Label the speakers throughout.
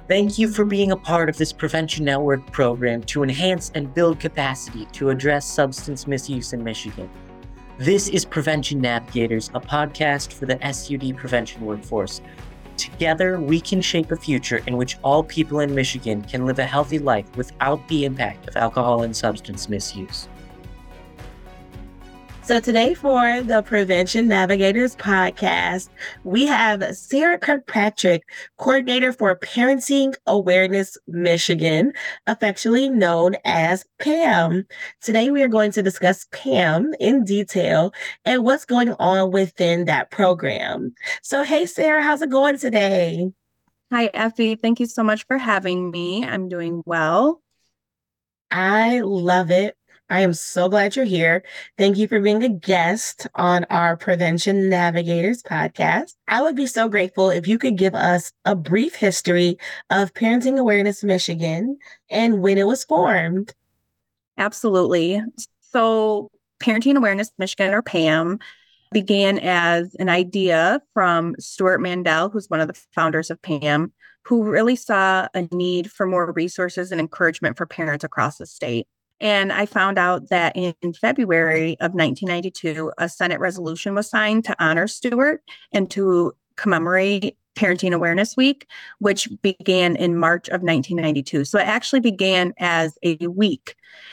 Speaker 1: Thank you for being a part of this Prevention Network program to enhance and build capacity to address substance misuse in Michigan. This is Prevention Navigators, a podcast for the SUD prevention workforce. Together, we can shape a future in which all people in Michigan can live a healthy life without the impact of alcohol and substance misuse.
Speaker 2: So today for the Prevention Navigators podcast, we have Sarah Kirkpatrick, coordinator for Parenting Awareness Michigan, affectionately known as PAM. Today we are going to discuss PAM in detail and what's going on within that program. So hey Sarah, how's it going today?
Speaker 3: Hi Effie, thank you so much for having me. I'm doing well.
Speaker 2: I love it. I am so glad you're here. Thank you for being a guest on our Prevention Navigators podcast. I would be so grateful if you could give us a brief history of Parenting Awareness Michigan and when it was formed.
Speaker 3: Absolutely. So Parenting Awareness Michigan, or PAM, began as an idea from Stuart Mandel, who's one of the founders of PAM, who really saw a need for more resources and encouragement for parents across the state. And I found out that in February of 1992, a Senate resolution was signed to honor Stuart and to commemorate Parenting Awareness Week, which began in March of 1992. So it actually began as a week.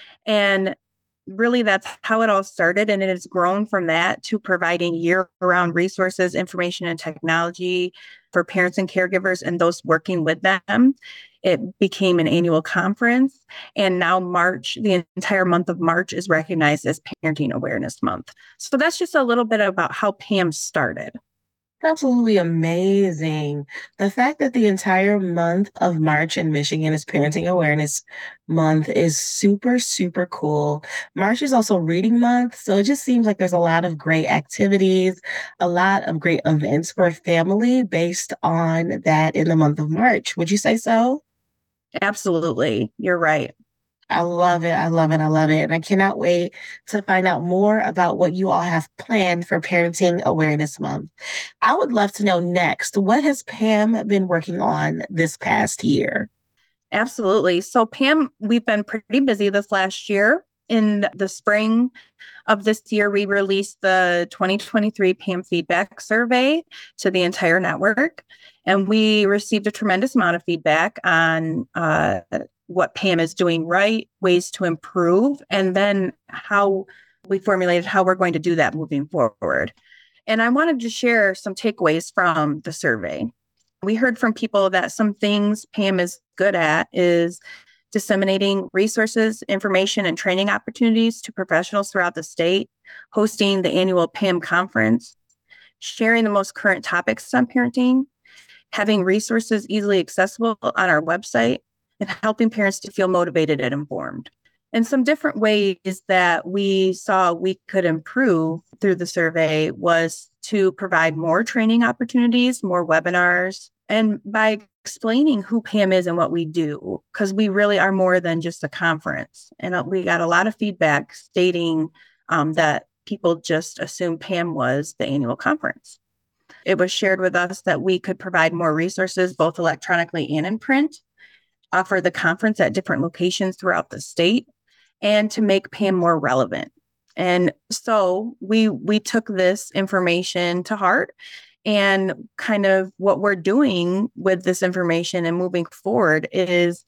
Speaker 3: And really, that's how it all started. And it has grown from that to providing year-round resources, information, and technology for parents and caregivers and those working with them. It became an annual conference. And now March, the entire month of March, is recognized as Parenting Awareness Month. So that's just a little bit about how PAM started.
Speaker 2: Absolutely amazing. The fact that the entire month of March in Michigan is Parenting Awareness Month is super, super cool. March is also Reading Month, so it just seems like there's a lot of great activities, a lot of great events for family based on that in the month of March. Would you say so?
Speaker 3: Absolutely. You're right.
Speaker 2: I love it. I love it. I love it. And I cannot wait to find out more about what you all have planned for Parenting Awareness Month. I would love to know next, what has Pam been working on this past year?
Speaker 3: Absolutely. So Pam, we've been pretty busy this last year. In the spring of this year, we released the 2023 PAM feedback survey to the entire network. And we received a tremendous amount of feedback on what PAM is doing right, ways to improve, and then how we formulated how we're going to do that moving forward. And I wanted to share some takeaways from the survey. We heard from people that some things PAM is good at is disseminating resources, information, and training opportunities to professionals throughout the state, hosting the annual PAM conference, sharing the most current topics on parenting, having resources easily accessible on our website, and helping parents to feel motivated and informed. And some different ways that we saw we could improve through the survey was to provide more training opportunities, more webinars, and by explaining who PAM is and what we do, because we really are more than just a conference. And we got a lot of feedback stating that people just assumed PAM was the annual conference. It was shared with us that we could provide more resources, both electronically and in print, offer the conference at different locations throughout the state, and to make PAM more relevant. And so we took this information to heart, and kind of what we're doing with this information and moving forward is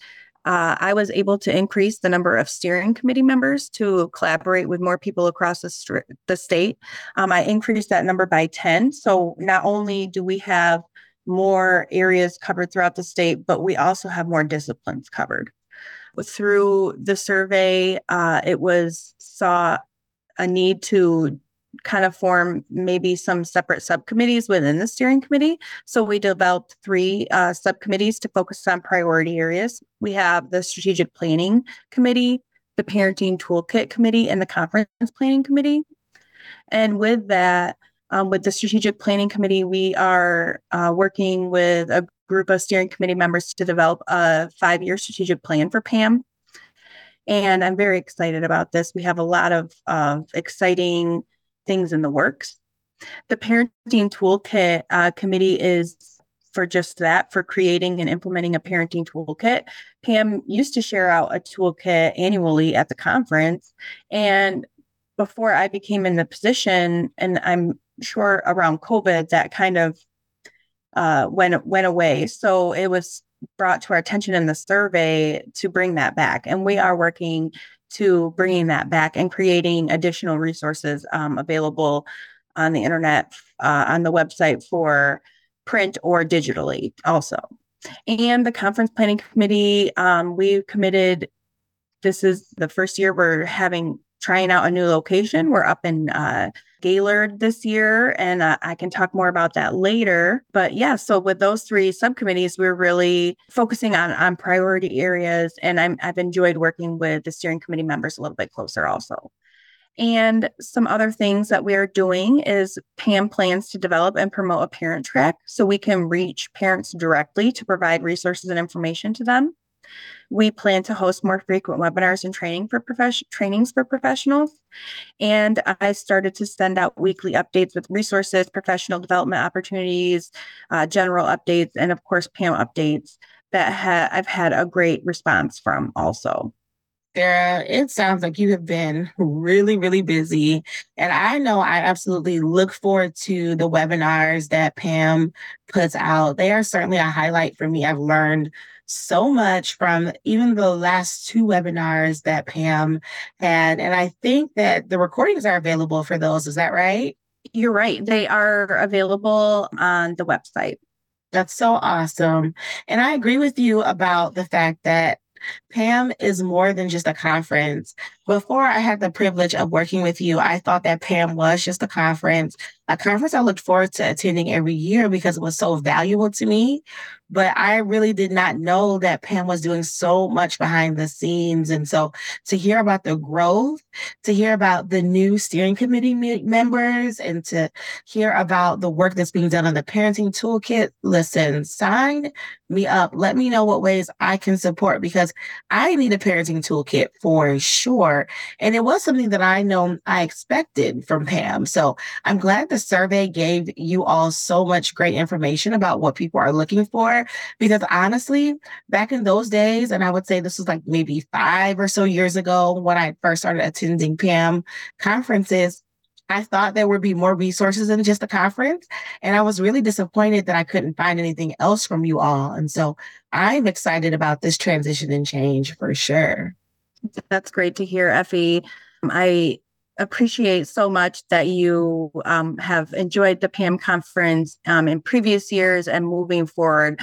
Speaker 3: I was able to increase the number of steering committee members to collaborate with more people across the state. I increased that number by 10. So not only do we have more areas covered throughout the state, but we also have more disciplines covered. Through the survey, saw a need to kind of form maybe some separate subcommittees within the steering committee. So we developed 3 subcommittees to focus on priority areas. We have the strategic planning committee, the parenting toolkit committee, and the conference planning committee. And with that, with the strategic planning committee, we are working with a group of steering committee members to develop a 5-year strategic plan for PAM. And I'm very excited about this. We have a lot of exciting things in the works. The parenting toolkit committee is for just that, for creating and implementing a parenting toolkit. Pam used to share out a toolkit annually at the conference. And before I became in the position, and I'm sure around COVID, that kind of went away. So it was brought to our attention in the survey to bring that back. And we are working to bringing that back and creating additional resources available on the internet, on the website for print or digitally also. And the conference planning committee, we committed, this is the first year we're trying out a new location. We're up in Gaylord this year, and I can talk more about that later. But yeah, so with those 3 subcommittees, we're really focusing on priority areas, and I've enjoyed working with the steering committee members a little bit closer also. And some other things that we're doing is Pam plans to develop and promote a parent track so we can reach parents directly to provide resources and information to them. We plan to host more frequent webinars and trainings for professionals. And I started to send out weekly updates with resources, professional development opportunities, general updates, and of course, Pam updates that I've had a great response from also.
Speaker 2: Sarah, it sounds like you have been really, really busy. And I know I absolutely look forward to the webinars that Pam puts out. They are certainly a highlight for me. I've learned so much from even the last 2 webinars that Pam had. And I think that the recordings are available for those. Is that right?
Speaker 3: You're right. They are available on the website.
Speaker 2: That's so awesome. And I agree with you about the fact that Pam is more than just a conference. Before I had the privilege of working with you, I thought that Pam was just a conference I looked forward to attending every year because it was so valuable to me. But I really did not know that Pam was doing so much behind the scenes. And so to hear about the growth, to hear about the new steering committee members, and to hear about the work that's being done on the parenting toolkit, listen, sign me up. Let me know what ways I can support, because I need a parenting toolkit for sure. And it was something that I know I expected from Pam. So I'm glad the survey gave you all so much great information about what people are looking for, because honestly, back in those days, and I would say this was like maybe 5 or so years ago when I first started attending Pam conferences, I thought there would be more resources than just a conference. And I was really disappointed that I couldn't find anything else from you all. And so I'm excited about this transition and change for sure.
Speaker 3: That's great to hear, Effie. I appreciate so much that you have enjoyed the PAM conference in previous years, and moving forward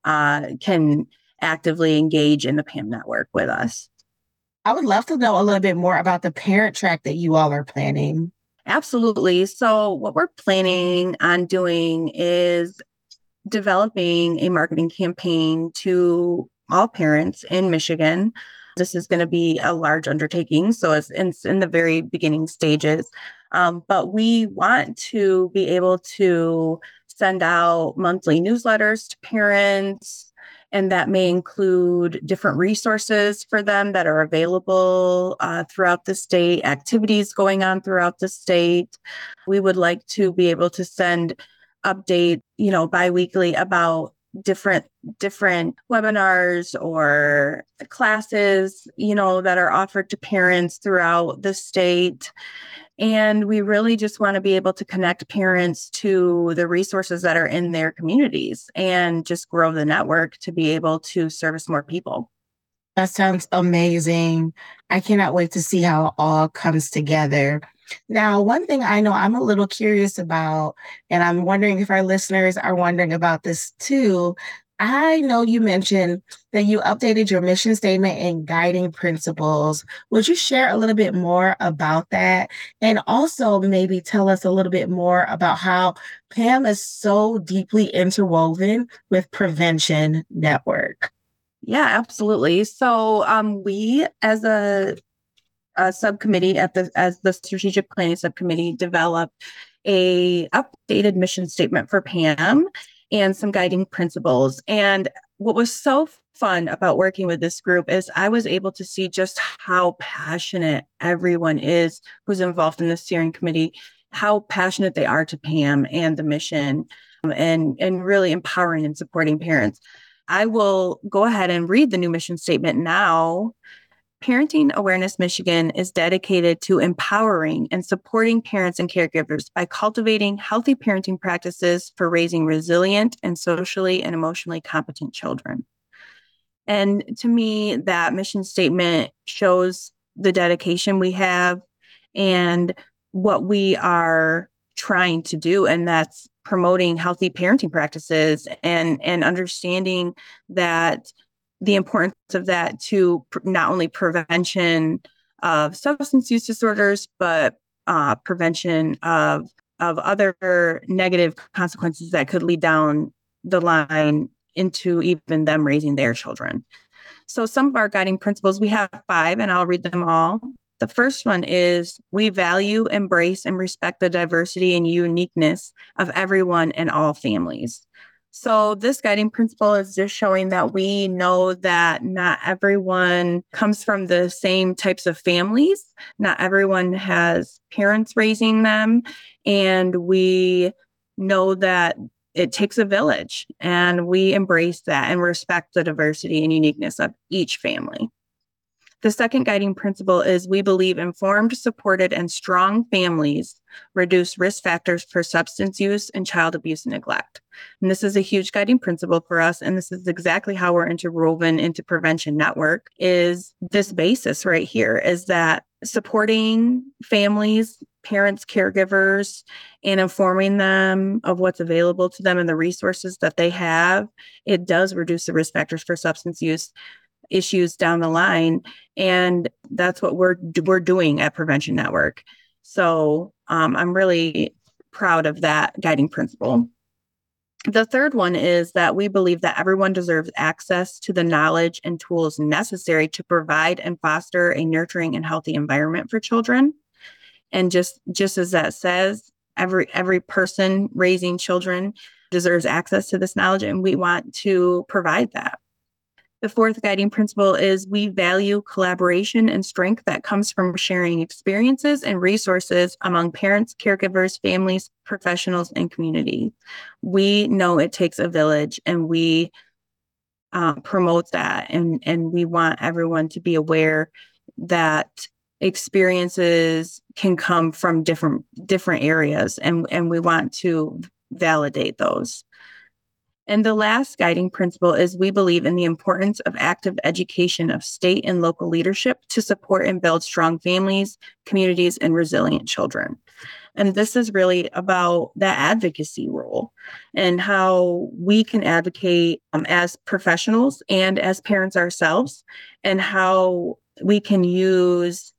Speaker 3: can actively engage in the PAM network with us.
Speaker 2: I would love to know a little bit more about the parent track that you all are planning.
Speaker 3: Absolutely. So what we're planning on doing is developing a marketing campaign to all parents in Michigan. This is going to be a large undertaking, so it's in the very beginning stages. But we want to be able to send out monthly newsletters to parents, and that may include different resources for them that are available throughout the state, activities going on throughout the state. We would like to be able to send update, biweekly about different webinars or classes, that are offered to parents throughout the state. And we really just want to be able to connect parents to the resources that are in their communities and just grow the network to be able to service more people.
Speaker 2: That sounds amazing. I cannot wait to see how it all comes together. Now, one thing I know I'm a little curious about, and I'm wondering if our listeners are wondering about this too. I know you mentioned that you updated your mission statement and guiding principles. Would you share a little bit more about that? And also maybe tell us a little bit more about how PAM is so deeply interwoven with Prevention Network.
Speaker 3: Yeah, absolutely. So we, as a subcommittee as the strategic planning subcommittee, developed a updated mission statement for PAM and some guiding principles. And what was so fun about working with this group is I was able to see just how passionate everyone is who's involved in the steering committee, how passionate they are to PAM and the mission. and really empowering and supporting parents. I will go ahead and read the new mission statement now. Parenting Awareness Michigan is dedicated to empowering and supporting parents and caregivers by cultivating healthy parenting practices for raising resilient and socially and emotionally competent children. And to me, that mission statement shows the dedication we have and what we are trying to do. And that's promoting healthy parenting practices and understanding that the importance of that to not only prevention of substance use disorders, but prevention of other negative consequences that could lead down the line into even them raising their children. So some of our guiding principles, we have 5, and I'll read them all. The first one is we value, embrace, and respect the diversity and uniqueness of everyone and all families. So this guiding principle is just showing that we know that not everyone comes from the same types of families. Not everyone has parents raising them. And we know that it takes a village, and we embrace that and respect the diversity and uniqueness of each family. The second guiding principle is we believe informed, supported, and strong families reduce risk factors for substance use and child abuse and neglect. And this is a huge guiding principle for us. And this is exactly how we're interwoven into Prevention Network, is this basis right here, is that supporting families, parents, caregivers, and informing them of what's available to them and the resources that they have, it does reduce the risk factors for substance use issues down the line. And that's what we're doing at Prevention Network. So I'm really proud of that guiding principle. The third one is that we believe that everyone deserves access to the knowledge and tools necessary to provide and foster a nurturing and healthy environment for children. And just as that says, every person raising children deserves access to this knowledge, and we want to provide that. The fourth guiding principle is we value collaboration and strength that comes from sharing experiences and resources among parents, caregivers, families, professionals, and community. We know it takes a village, and we promote that. And we want everyone to be aware that experiences can come from different areas, and we want to validate those. And the last guiding principle is we believe in the importance of active education of state and local leadership to support and build strong families, communities, and resilient children. And this is really about that advocacy role and how we can advocate as professionals and as parents ourselves, and how we can use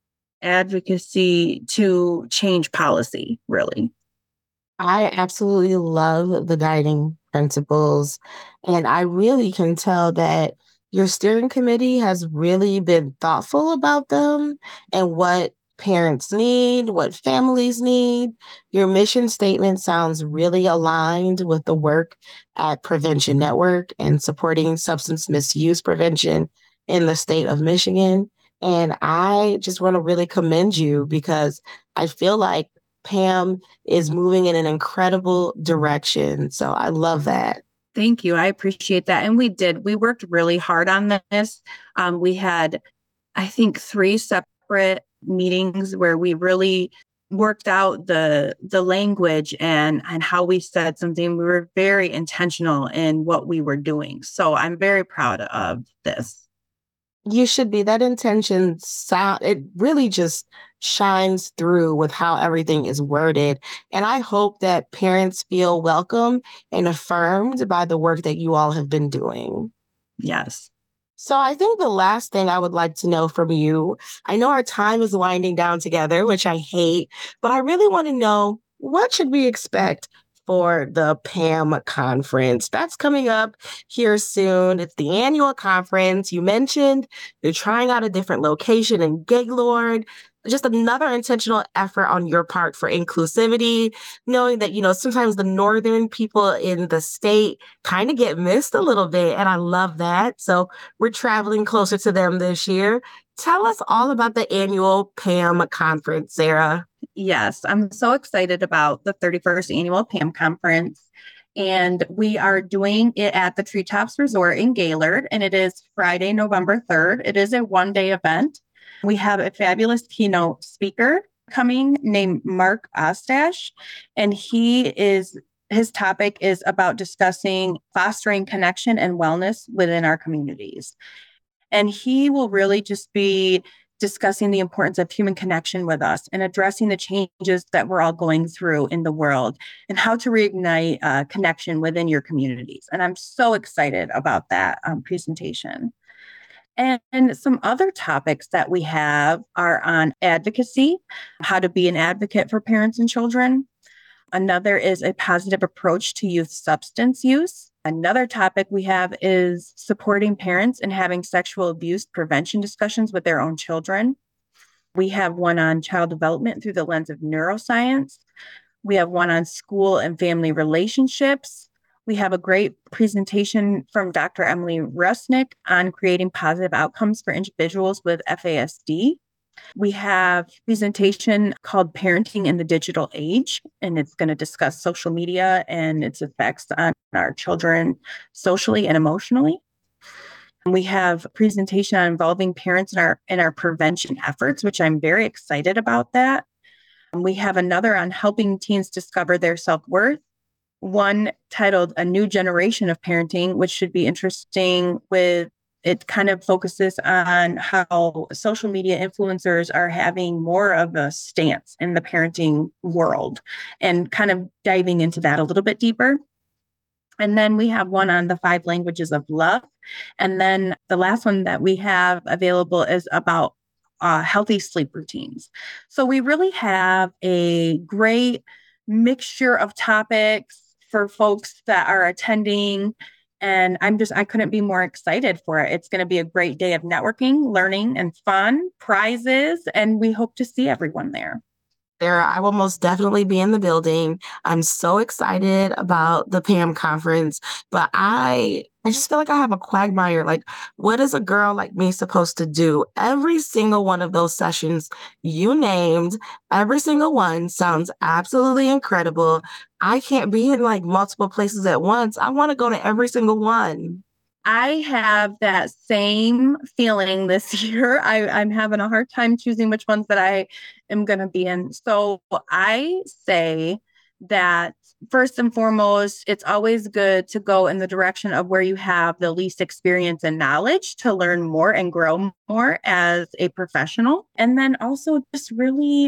Speaker 3: advocacy to change policy, really.
Speaker 2: I absolutely love the guiding principles, and I really can tell that your steering committee has really been thoughtful about them and what parents need, what families need. Your mission statement sounds really aligned with the work at Prevention Network and supporting substance misuse prevention in the state of Michigan. And I just want to really commend you, because I feel like Pam is moving in an incredible direction. So I love that.
Speaker 3: Thank you. I appreciate that. And we worked really hard on this. We had, I think, 3 separate meetings where we really worked out the language and how we said something. We were very intentional in what we were doing. So I'm very proud of this.
Speaker 2: You should be. That intention it really just shines through with how everything is worded. And I hope that parents feel welcome and affirmed by the work that you all have been doing.
Speaker 3: Yes.
Speaker 2: So I think the last thing I would like to know from you, I know our time is winding down together, which I hate, but I really want to know, what should we expect for the PAM conference? That's coming up here soon. It's the annual conference. You mentioned you're trying out a different location in Gaylord. Just another intentional effort on your part for inclusivity, knowing that, sometimes the northern people in the state kind of get missed a little bit. And I love that. So we're traveling closer to them this year. Tell us all about the annual PAM conference, Sarah.
Speaker 3: Yes, I'm so excited about the 31st annual PAM conference. And we are doing it at the Treetops Resort in Gaylord, and it is Friday, November 3rd. It is a one-day event. We have a fabulous keynote speaker coming named Mark Ostash, and his topic is about discussing fostering connection and wellness within our communities. And he will really just be discussing the importance of human connection with us and addressing the changes that we're all going through in the world and how to reignite connection within your communities. And I'm so excited about that presentation. And some other topics that we have are on advocacy, how to be an advocate for parents and children. Another is a positive approach to youth substance use. Another topic we have is supporting parents in having sexual abuse prevention discussions with their own children. We have one on child development through the lens of neuroscience. We have one on school and family relationships. We have a great presentation from Dr. Emily Rusnick on creating positive outcomes for individuals with FASD. We have a presentation called Parenting in the Digital Age, and it's going to discuss social media and its effects on our children socially and emotionally. And we have a presentation on involving parents in our prevention efforts, which I'm very excited about that. And we have another on helping teens discover their self-worth, one titled A New Generation of Parenting, which should be interesting with it kind of focuses on how social media influencers are having more of a stance in the parenting world and kind of diving into that a little bit deeper. And then we have one on the 5 languages of love. And then the last one that we have available is about healthy sleep routines. So we really have a great mixture of topics for folks that are attending. And I couldn't be more excited for it. It's going to be a great day of networking, learning, and fun, prizes, and we hope to see everyone there.
Speaker 2: Sarah, I will most definitely be in the building. I'm so excited about the PAM conference, but I just feel like I have a quagmire. Like, what is a girl like me supposed to do? Every single one of those sessions you named, every single one sounds absolutely incredible. I can't be in like multiple places at once. I want to go to every single one.
Speaker 3: I have that same feeling this year. I'm having a hard time choosing which ones that I am going to be in. So I say that first and foremost, it's always good to go in the direction of where you have the least experience and knowledge to learn more and grow more as a professional. And then also just really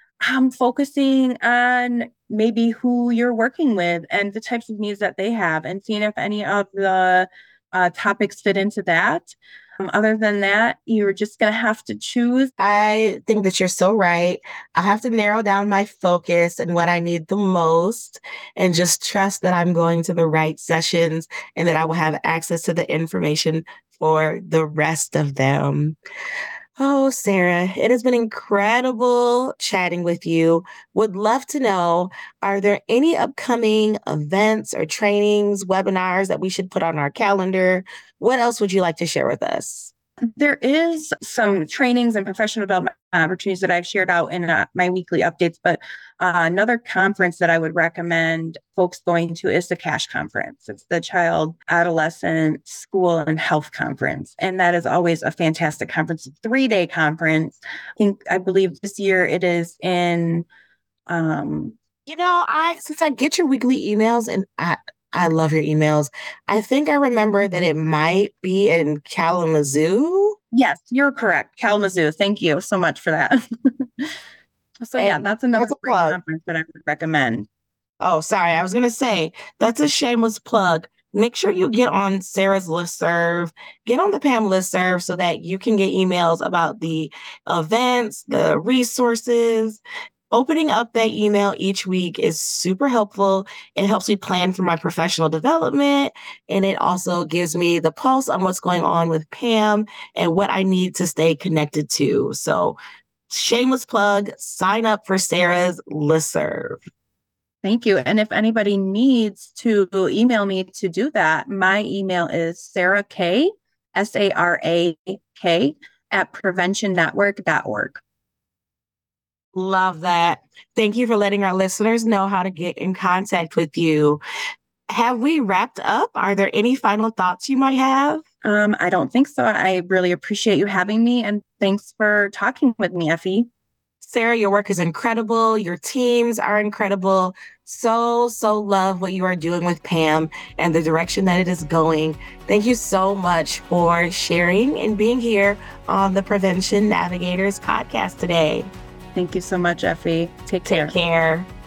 Speaker 3: focusing on maybe who you're working with and the types of needs that they have and seeing if any of the topics fit into that. Other than that, you're just going to have to choose.
Speaker 2: I think that you're so right. I have to narrow down my focus and what I need the most and just trust that I'm going to the right sessions and that I will have access to the information for the rest of them. Oh, Sarah, it has been incredible chatting with you. Would love to know, are there any upcoming events or trainings, webinars that we should put on our calendar? What else would you like to share with us?
Speaker 3: There is some trainings and professional development opportunities that I've shared out in my weekly updates, but another conference that I would recommend folks going to is the CASH conference. It's the Child, Adolescent, School, and Health Conference. And that is always a fantastic conference, a 3-day conference. I believe this year it is in...
Speaker 2: Since I get your weekly emails and I love your emails. I think I remember that it might be in Kalamazoo.
Speaker 3: Yes, you're correct. Kalamazoo. Thank you so much for that. So yeah, that's another great conference that I would recommend.
Speaker 2: Oh, sorry. I was going to say, that's a shameless plug. Make sure you get on Sarah's listserv, get on the PAM listserv so that you can get emails about the events, the resources. Opening up that email each week is super helpful. It helps me plan for my professional development. And it also gives me the pulse on what's going on with PAM and what I need to stay connected to. So shameless plug, sign up for Sarah's listserv.
Speaker 3: Thank you. And if anybody needs to email me to do that, my email is Sarah K, SARAK, @preventionnetwork.org.
Speaker 2: Love that. Thank you for letting our listeners know how to get in contact with you. Have we wrapped up? Are there any final thoughts you might have?
Speaker 3: I don't think so. I really appreciate you having me, and thanks for talking with me, Effie.
Speaker 2: Sarah, your work is incredible. Your teams are incredible. So love what you are doing with Pam and the direction that it is going. Thank you so much for sharing and being here on the Prevention Navigators podcast today.
Speaker 3: Thank you so much, Effie. Take care.
Speaker 2: Take care.